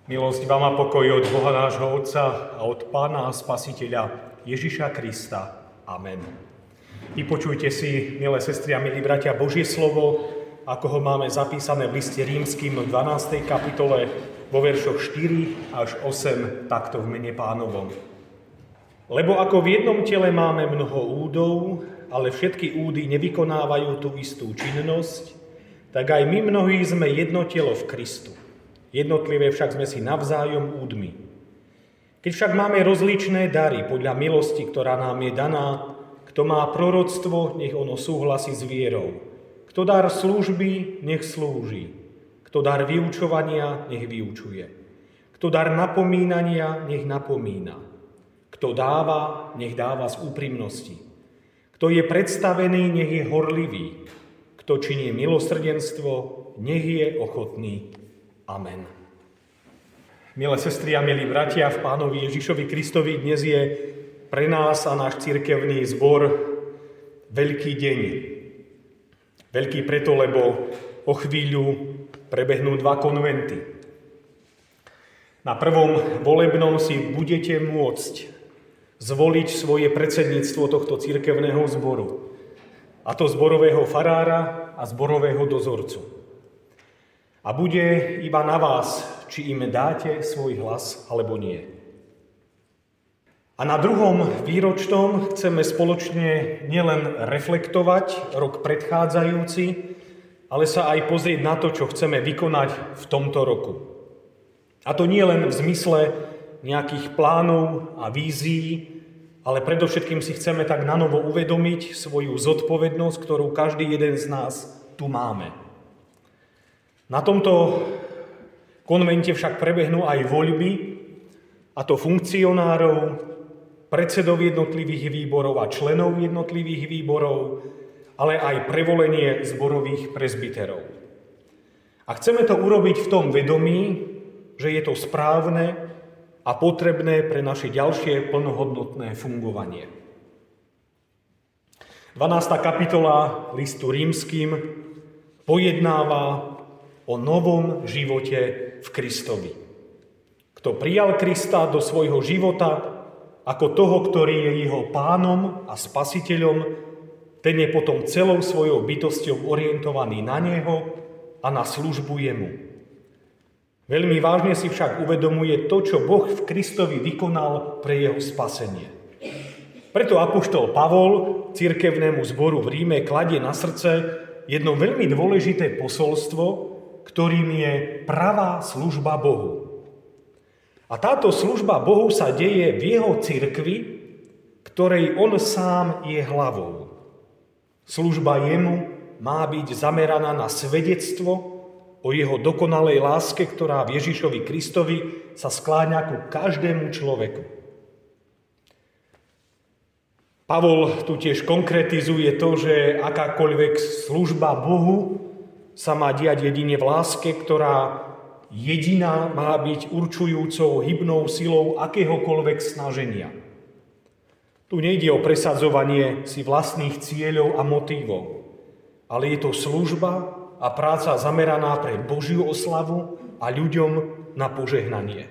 Milosť vám a pokoj od Boha nášho Otca a od Pána a Spasiteľa Ježiša Krista. Amen. Vypočujte si, milé sestry a milí bratia, Božie slovo, ako ho máme zapísané v liste Rímskym v 12. kapitole vo veršoch 4 až 8, takto v mene Pánovom. Lebo ako v jednom tele máme mnoho údov, ale všetky údy nevykonávajú tú istú činnosť, tak aj my mnohí sme jedno telo v Kristu. Jednotlivé však sme si navzájom údmi. Keď však máme rozličné dary podľa milosti, ktorá nám je daná, kto má proroctvo, nech ono súhlasí s vierou. Kto dar služby, nech slúži. Kto dar vyučovania, nech vyučuje. Kto dar napomínania, nech napomína. Kto dáva, nech dáva z úprimnosti. Kto je predstavený, nech je horlivý. Kto činí milosrdenstvo, nech je ochotný. Amen. Milé sestry a milí bratia, v Pánovi Ježišovi Kristovi dnes je pre nás a náš cirkevný zbor veľký deň. Veľký preto, lebo o chvíľu prebehnú 2 konventy. Na prvom volebnom si budete môcť zvoliť svoje predsedníctvo tohto cirkevného zboru, a to zborového farára a zborového dozorcu. A bude iba na vás, či im dáte svoj hlas, alebo nie. A na druhom výročnom chceme spoločne nielen reflektovať rok predchádzajúci, ale sa aj pozrieť na to, čo chceme vykonať v tomto roku. A to nie len v zmysle nejakých plánov a vízií, ale predovšetkým si chceme tak nanovo uvedomiť svoju zodpovednosť, ktorú každý jeden z nás tu máme. Na tomto konvente však prebehnú aj voľby, a to funkcionárov, predsedov jednotlivých výborov a členov jednotlivých výborov, ale aj prevolenie zborových presbyterov. A chceme to urobiť v tom vedomí, že je to správne a potrebné pre naše ďalšie plnohodnotné fungovanie. 12. kapitola listu Rímskym pojednáva o novom živote v Kristovi. Kto prijal Krista do svojho života ako toho, ktorý je jeho pánom a spasiteľom, ten je potom celou svojou bytosťou orientovaný na neho a na službu jemu. Veľmi vážne si však uvedomuje to, čo Boh v Kristovi vykonal pre jeho spasenie. Preto apoštol Pavol cirkevnému zboru v Ríme kladie na srdce jedno veľmi dôležité posolstvo, ktorým je pravá služba Bohu. A táto služba Bohu sa deje v jeho cirkvi, ktorej on sám je hlavou. Služba jemu má byť zameraná na svedectvo o jeho dokonalej láske, ktorá v Ježišovi Kristovi sa skláňa ku každému človeku. Pavol tu tiež konkretizuje to, že akákoľvek služba Bohu sa má diať jedine v láske, ktorá jediná má byť určujúcou hybnou silou akéhokoľvek snaženia. Tu nejde o presadzovanie si vlastných cieľov a motívov, ale je to služba a práca zameraná pre Božiu oslavu a ľuďom na požehnanie.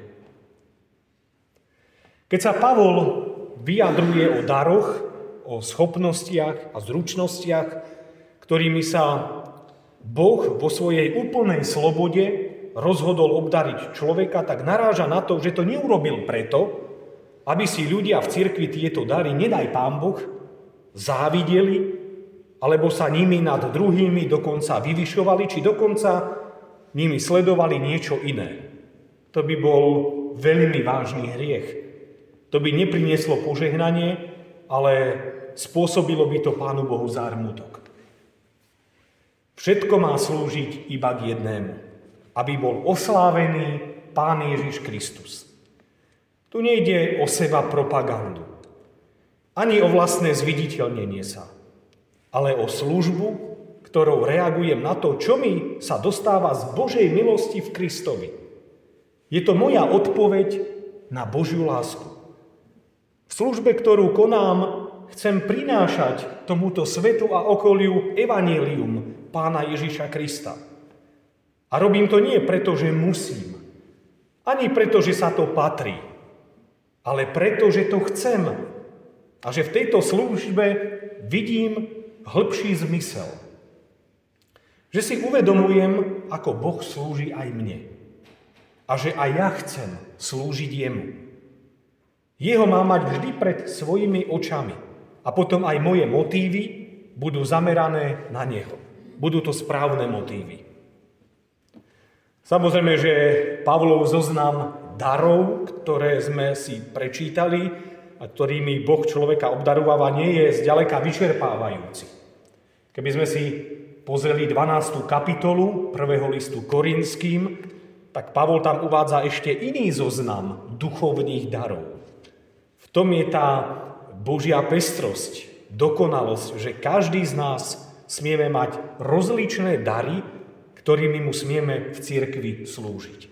Keď sa Pavol vyjadruje o daroch, o schopnostiach a zručnostiach, ktorými sa Boh vo svojej úplnej slobode rozhodol obdariť človeka, tak naráža na to, že to neurobil preto, aby si ľudia v cirkvi tieto dary, nedaj Pán Boh, závideli, alebo sa nimi nad druhými dokonca vyvyšovali, či dokonca nimi sledovali niečo iné. To by bol veľmi vážny hriech. To by neprinieslo požehnanie, ale spôsobilo by to Pánu Bohu zármutok. Všetko má slúžiť iba k jednému, aby bol oslávený Pán Ježiš Kristus. Tu nejde o seba propagandu, ani o vlastné zviditeľnenie sa, ale o službu, ktorou reagujem na to, čo mi sa dostáva z Božej milosti v Kristovi. Je to moja odpoveď na Božiu lásku. V službe, ktorú konám, chcem prinášať tomuto svetu a okoliu evanjelium Pána Ježiša Krista. A robím to nie preto, že musím, Ani preto, že sa to patrí, ale preto, že to chcem. A že v tejto službe vidím hĺbší zmysel. Že si uvedomujem, ako Boh slúži aj mne. A že aj ja chcem slúžiť jemu. Jeho má mať vždy pred svojimi očami. A potom aj moje motívy budú zamerané na neho. Budú to správne motívy. Samozrejme, že Pavlov zoznam darov, ktoré sme si prečítali a ktorými Boh človeka obdarováva, nie je zďaleka vyčerpávajúci. Keby sme si pozreli 12. kapitolu 1. listu Korinským, tak Pavol tam uvádza ešte iný zoznam duchovných darov. V tom je tá Božia pestrosť, dokonalosť, že každý z nás smieme mať rozličné dary, ktorými mu smieme v cirkvi slúžiť.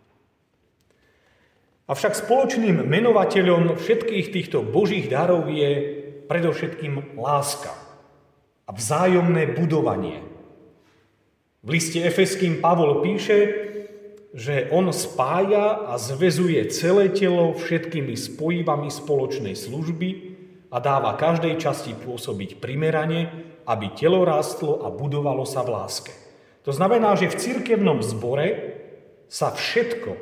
Avšak spoločným menovateľom všetkých týchto Božích darov je predovšetkým láska a vzájomné budovanie. V liste Efeským Pavol píše, že on spája a zväzuje celé telo všetkými spojivami spoločnej služby a dáva každej časti pôsobiť primerane, aby telo rástlo a budovalo sa v láske. To znamená, že v cirkevnom zbore sa všetko,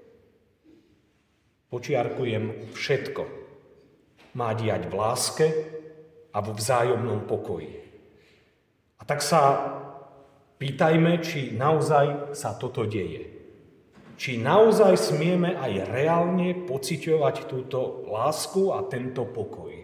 počiarkujem všetko, má diať v láske a vo vzájomnom pokoji. A tak sa pýtajme, či naozaj sa toto deje. Či naozaj smieme aj reálne pociťovať túto lásku a tento pokoj.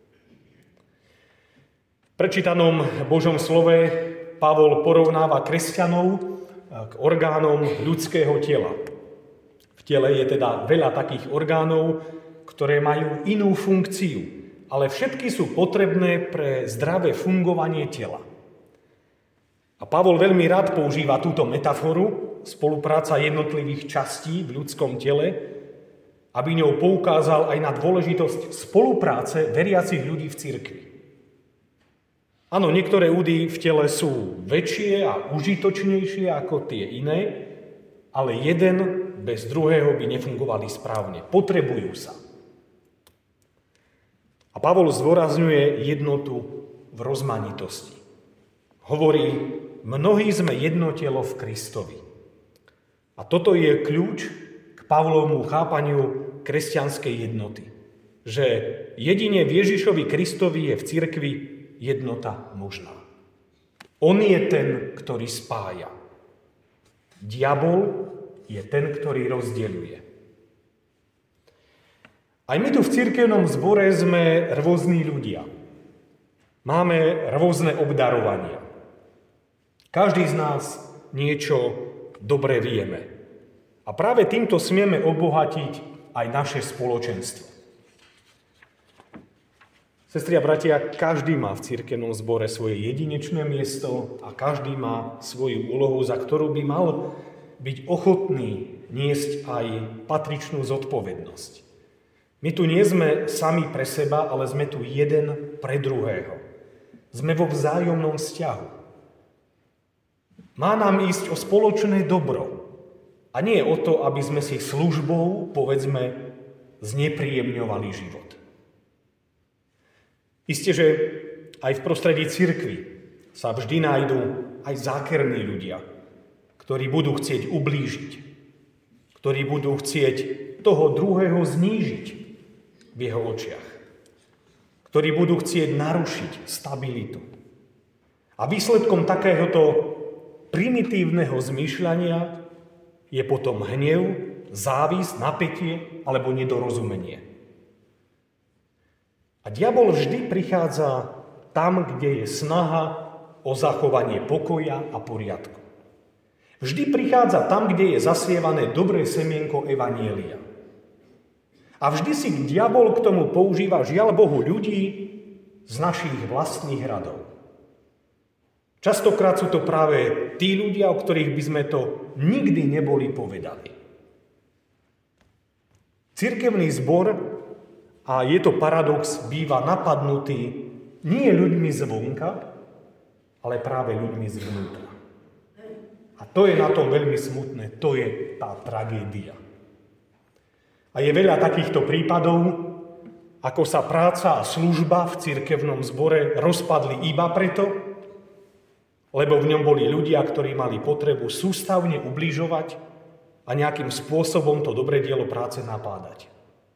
V prečítanom Božom slove Pavol porovnáva kresťanov k orgánom ľudského tela. V tele je teda veľa takých orgánov, ktoré majú inú funkciu, ale všetky sú potrebné pre zdravé fungovanie tela. A Pavol veľmi rád používa túto metaforu, spolupráca jednotlivých častí v ľudskom tele, aby ňou poukázal aj na dôležitosť spolupráce veriacich ľudí v cirkvi. Áno, niektoré údy v tele sú väčšie a užitočnejšie ako tie iné, ale jeden bez druhého by nefungovali správne. Potrebujú sa. A Pavol zdôrazňuje jednotu v rozmanitosti. Hovorí, mnohí sme jedno telo v Kristovi. A toto je kľúč k Pavlovmu chápaniu kresťanskej jednoty. Že jedine v Ježišovi Kristovi je v cirkvi jednota možná. On je ten, ktorý spája. Diabol je ten, ktorý rozdeľuje. Aj my tu v cirkevnom zbore sme rôzni ľudia. Máme rôzne obdarovania. Každý z nás niečo dobre vieme. A práve týmto smieme obohatiť aj naše spoločenstvo. Sestri a bratia, každý má v cirkevnom zbore svoje jedinečné miesto a každý má svoju úlohu, za ktorú by mal byť ochotný niesť aj patričnú zodpovednosť. My tu nie sme sami pre seba, ale sme tu jeden pre druhého. Sme vo vzájomnom vzťahu. Má nám ísť o spoločné dobro a nie o to, aby sme si službou, povedzme, znepríjemňovali život. Isté, že aj v prostredí cirkvi sa vždy nájdú aj zákerní ľudia, ktorí budú chcieť ublížiť, ktorí budú chcieť toho druhého znížiť v jeho očiach, ktorí budú chcieť narušiť stabilitu. A výsledkom takéhoto primitívneho zmýšľania je potom hnev, závisť, napätie alebo nedorozumenie. A diabol vždy prichádza tam, kde je snaha o zachovanie pokoja a poriadku. Vždy prichádza tam, kde je zasievané dobré semienko evanjelia. A vždy si diabol k tomu používa, žiaľ Bohu, ľudí z našich vlastných radov. Častokrát sú to práve tí ľudia, o ktorých by sme to nikdy neboli povedali. Cirkevný zbor, a je to paradox, býva napadnutý nie ľuďmi zvonka, ale práve ľuďmi zvnútra. A to je na tom veľmi smutné, to je tá tragédia. A je veľa takýchto prípadov, ako sa práca a služba v cirkevnom zbore rozpadli iba preto, lebo v ňom boli ľudia, ktorí mali potrebu sústavne ubližovať a nejakým spôsobom to dobré dielo práce napádať.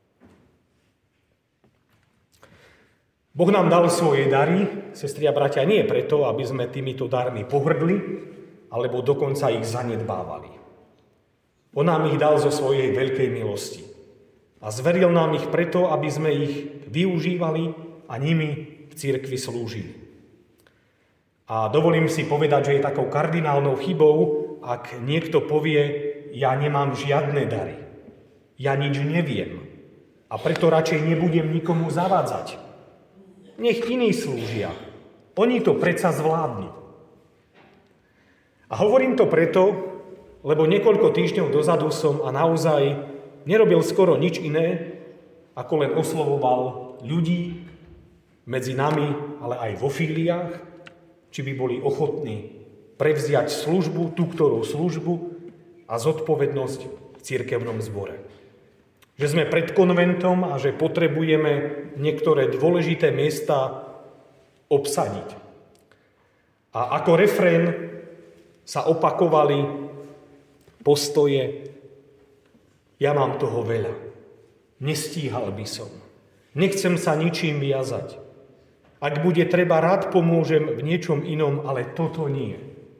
Boh nám dal svoje dary, sestri a bratia, nie preto, aby sme týmito darmi pohrdli, alebo dokonca ich zanedbávali. On nám ich dal zo svojej veľkej milosti. A zveril nám ich preto, aby sme ich využívali a nimi v cirkvi slúžili. A dovolím si povedať, že je takou kardinálnou chybou, ak niekto povie, ja nemám žiadne dary, ja nič neviem a preto radšej nebudem nikomu zavádzať. Nech iní slúžia, oni to predsa zvládnu. A hovorím to preto, lebo niekoľko týždňov dozadu som a naozaj nerobil skoro nič iné, ako len oslovoval ľudí medzi nami, ale aj vo fíliách, či by boli ochotní prevziať službu, tú ktorú službu a zodpovednosť v cirkevnom zbore. Že sme pred konventom a že potrebujeme niektoré dôležité miesta obsadiť. A ako refrén sa opakovali postoje: ja mám toho veľa, nestíhal by som, nechcem sa ničím viazať. Ak bude treba, rád pomôžem v niečom inom, ale toto nie.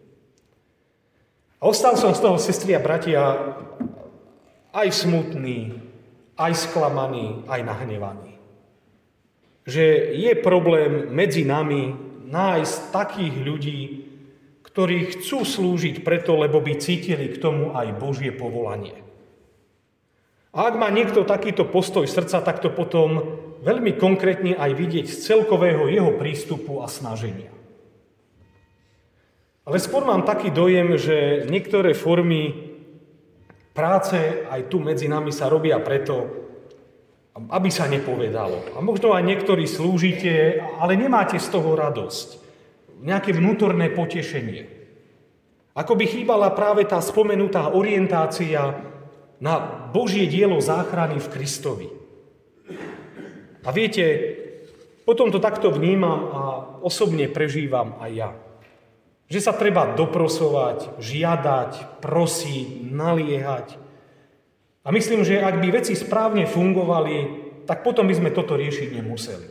A ostal som z toho, sestri a bratia, aj smutný, aj sklamaný, aj nahnevaný. Že je problém medzi nami nájsť takých ľudí, ktorí chcú slúžiť preto, lebo by cítili k tomu aj Božie povolanie. A ak má niekto takýto postoj srdca, tak to potom veľmi konkrétne aj vidieť z celkového jeho prístupu a snaženia. Ale skôr mám taký dojem, že niektoré formy práce aj tu medzi nami sa robia preto, aby sa nepovedalo. A možno aj niektorí slúžite, ale nemáte z toho radosť. Nejaké vnútorné potešenie. Ako by chýbala práve tá spomenutá orientácia na Božie dielo záchrany v Kristovi. A viete, potom to takto vnímam a osobne prežívam aj ja. Že sa treba doprosovať, žiadať, prosiť, naliehať. A myslím, že ak by veci správne fungovali, tak potom by sme toto riešiť nemuseli.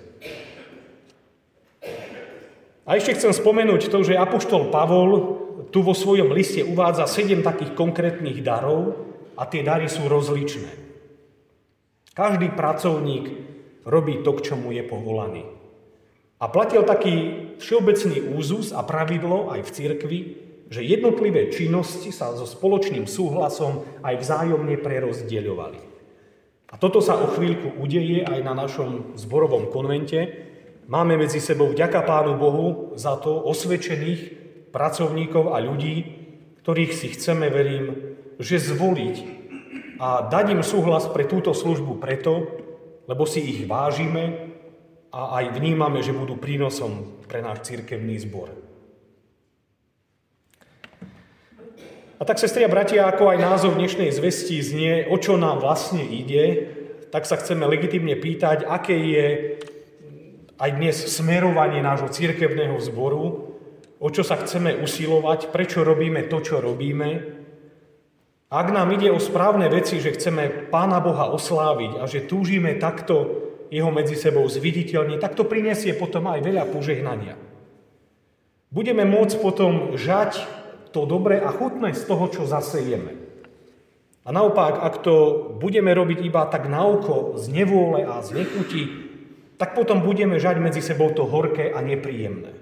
A ešte chcem spomenúť to, že apoštol Pavol tu vo svojom liste uvádza 7 takých konkrétnych darov, a tie dary sú rozličné. Každý pracovník robí to, k čomu je povolaný. A platil taký všeobecný úzus a pravidlo aj v cirkvi, že jednotlivé činnosti sa so spoločným súhlasom aj vzájomne prerozdeľovali. A toto sa o chvíľku udeje aj na našom zborovom konvente. Máme medzi sebou, vďaka Pánu Bohu, za to osvedčených pracovníkov a ľudí, ktorých si chceme, verím, že zvoliť a dať im súhlas pre túto službu preto, lebo si ich vážime a aj vnímame, že budú prínosom pre náš cirkevný zbor. A tak, sestri a bratia, ako aj názov dnešnej zvesti znie, o čo nám vlastne ide, tak sa chceme legitímne pýtať, aké je aj dnes smerovanie nášho cirkevného zboru, o čo sa chceme usilovať, prečo robíme to, čo robíme. Ak nám ide o správne veci, že chceme Pána Boha osláviť a že túžime takto jeho medzi sebou zviditeľniť, tak to prinesie potom aj veľa požehnania. Budeme môcť potom žať to dobré a chutné z toho, čo zasejeme. A naopak, ak to budeme robiť iba tak na oko, z nevôle a z nechutí, tak potom budeme žať medzi sebou to horké a nepríjemné.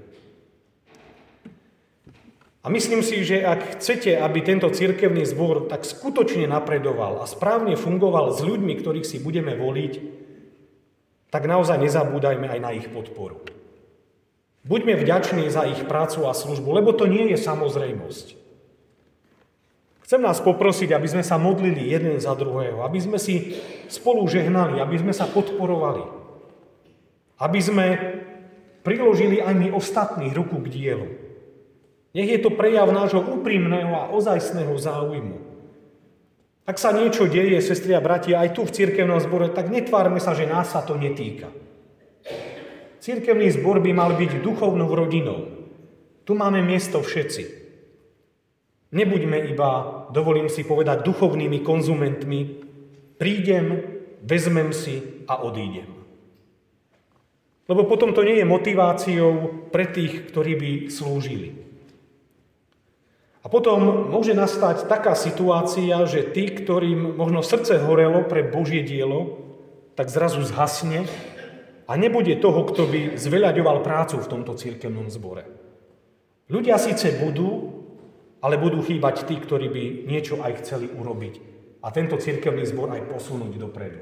A myslím si, že ak chcete, aby tento cirkevný zbor tak skutočne napredoval a správne fungoval s ľuďmi, ktorých si budeme voliť, tak naozaj nezabúdajme aj na ich podporu. Buďme vďační za ich prácu a službu, lebo to nie je samozrejmosť. Chcem nás poprosiť, aby sme sa modlili jeden za druhého, aby sme si spolu žehnali, aby sme sa podporovali, aby sme priložili aj my ostatných ruku k dielu. Nech je to prejav nášho úprimného a ozajstného záujmu. Ak sa niečo deje, sestri a bratia, aj tu v cirkevnom zbore, tak netvárme sa, že nás sa to netýka. Cirkevný zbor by mal byť duchovnou rodinou. Tu máme miesto všetci. Nebuďme iba, dovolím si povedať, duchovnými konzumentmi. Prídem, vezmem si a odídem. Lebo potom to nie je motiváciou pre tých, ktorí by slúžili. A potom môže nastať taká situácia, že tí, ktorým možno srdce horelo pre Božie dielo, tak zrazu zhasne a nebude toho, kto by zveľaďoval prácu v tomto cirkevnom zbore. Ľudia síce budú, ale budú chýbať tí, ktorí by niečo aj chceli urobiť a tento cirkevný zbor aj posunúť dopredu.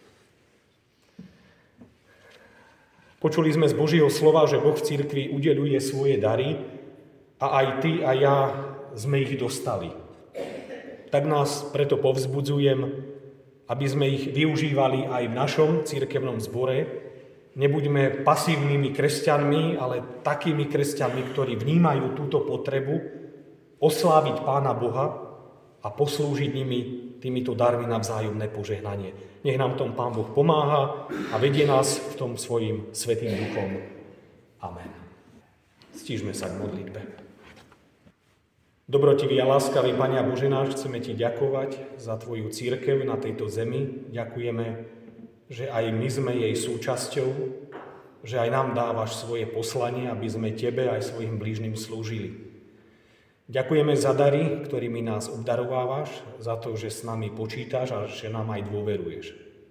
Počuli sme z Božieho slova, že Boh v cirkvi udeľuje svoje dary a aj ty a ja sme ich dostali. Tak nás preto povzbudzujem, aby sme ich využívali aj v našom cirkevnom zbore. Nebuďme pasívnymi kresťanmi, ale takými kresťanmi, ktorí vnímajú túto potrebu osláviť Pána Boha a poslúžiť nimi týmito darmi na vzájomné požehnanie. Nech nám tom Pán Boh pomáha a vedie nás v tom svojím svätým duchom. Amen. Stížme sa k modlitbe. Dobrotivý a láskavý Pane a Bože náš, chceme Ti ďakovať za Tvoju cirkev na tejto zemi. Ďakujeme, že aj my sme jej súčasťou, že aj nám dávaš svoje poslanie, aby sme Tebe aj svojim blížnym slúžili. Ďakujeme za dary, ktorými nás obdarovávaš, za to, že s nami počítaš a že nám aj dôveruješ.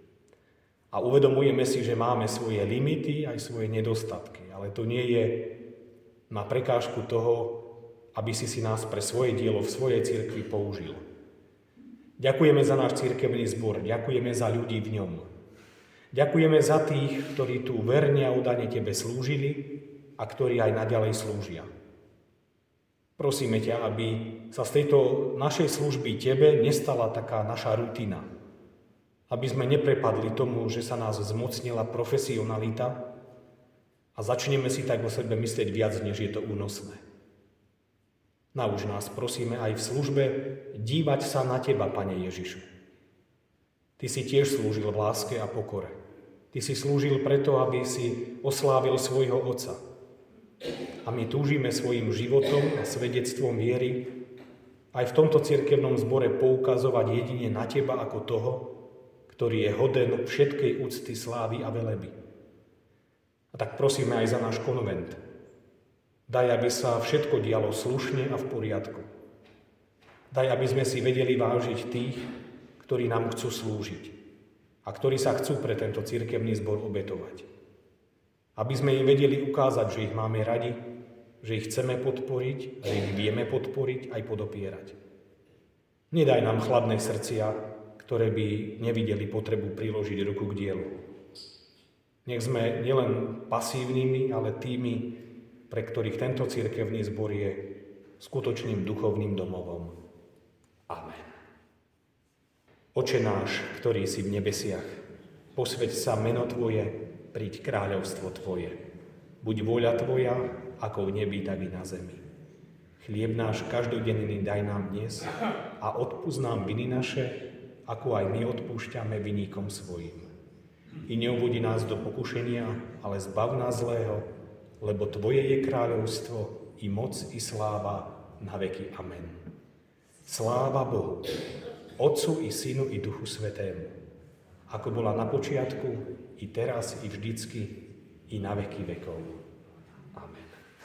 A uvedomujeme si, že máme svoje limity, aj svoje nedostatky, ale to nie je na prekážku toho, aby si nás pre svoje dielo v svojej cirkvi použil. Ďakujeme za náš cirkevný zbor, ďakujeme za ľudí v ňom. Ďakujeme za tých, ktorí tu verne a oddane Tebe slúžili a ktorí aj naďalej slúžia. Prosíme ťa, aby sa z tejto našej služby Tebe nestala taká naša rutina. Aby sme neprepadli tomu, že sa nás zmocnila profesionalita a začneme si tak o sebe myslieť viac, než je to únosné. Nauč nás, prosíme, aj v službe dívať sa na Teba, Pane Ježišu. Ty si tiež slúžil v láske a pokore. Ty si slúžil preto, aby si oslávil svojho Otca. A my túžime svojim životom a svedectvom viery aj v tomto cirkevnom zbore poukazovať jedine na Teba ako toho, ktorý je hoden všetkej úcty, slávy a veleby. A tak prosíme aj za náš konvent. Daj, aby sa všetko dialo slušne a v poriadku. Daj, aby sme si vedeli vážiť tých, ktorí nám chcú slúžiť a ktorí sa chcú pre tento cirkevný zbor obetovať. Aby sme im vedeli ukázať, že ich máme radi, že ich chceme podporiť, že ich vieme podporiť aj podopierať. Nedaj nám chladné srdcia, ktoré by nevideli potrebu priložiť ruku k dielu. Nech sme nielen pasívnymi, ale tými, pre ktorých tento cirkevný zbor je skutočným duchovným domovom. Amen. Oče náš, ktorý si v nebesiach, posväť sa meno Tvoje, príď kráľovstvo Tvoje. Buď vôľa Tvoja, ako v nebi, tak i na zemi. Chlieb náš každodenný daj nám dnes a odpusť nám viny naše, ako aj my odpúšťame viníkom svojim. I neuvodi nás do pokušenia, ale zbav nás zlého, lebo Tvoje je kráľovstvo, i moc, i sláva, na veky. Amen. Sláva Bohu, Otcu, i Synu, i Duchu Svätému, ako bola na počiatku, i teraz, i vždycky, i na veky vekov.